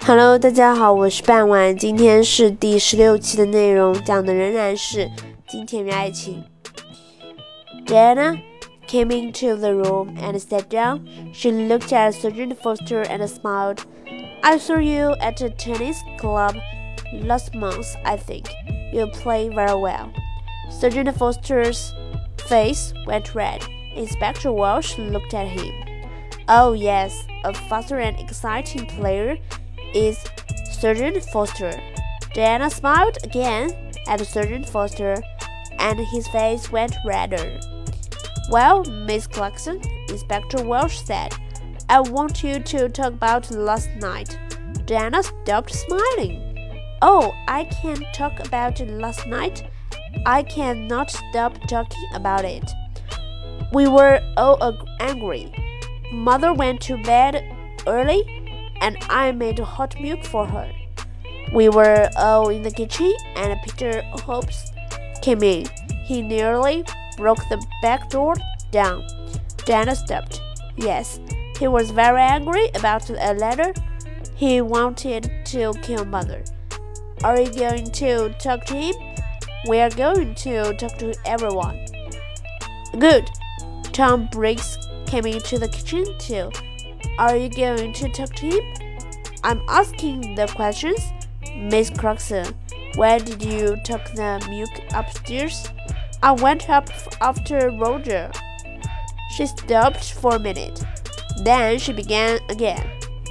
Hello， 大家好，我是半晚，今天是第16期的内容，讲的仍然是金田与爱情。Diana came into the room and sat down. She looked at Sergeant Foster and smiled. I saw you at a tennis club last month, I think. You play very well. Sergeant Foster's face went red. Inspector Welch looked at him. Oh yes, a faster and exciting player is Sergeant Foster. Diana smiled again at Sergeant Foster, and his face went redder. Well, Miss Clarkson, Inspector Welch said, I want you to talk about last night. Diana stopped smiling. Oh, I can't talk about last night. I cannot stop talking about it. We were all angry. Mother went to bed early, and I made hot milk for her. We were all in the kitchen, and Peter Hobbs came in. He nearly broke the back door down. Diana stopped. Yes, he was very angry about a letter. He wanted to kill Mother. Are you going to talk to him? We are going to talk to everyone. Good. Tom Briggs came into the kitchen too. Are you going to talk to him? I'm asking the questions. Miss Clarkson, where did you take the milk upstairs? I went up after Roger. She stopped for a minute. Then she began again.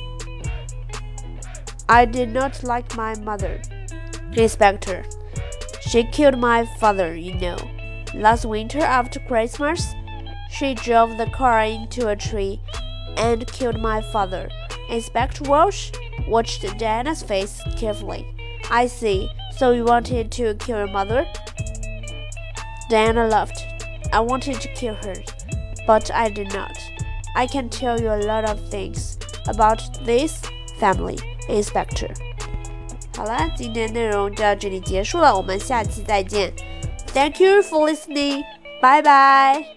I did not like my mother, Inspector. She killed my father, you know. Last winter after Christmas, she drove the car into a tree and killed my father. Inspector Welch watched Diana's face carefully. I see. So you wanted to kill your mother? Diana laughed. I wanted to kill her, but I did not. I can tell you a lot of things about this family, Inspector. 好了，今天的内容就到这里结束了，我们下期再见。Thank you for listening. Bye bye.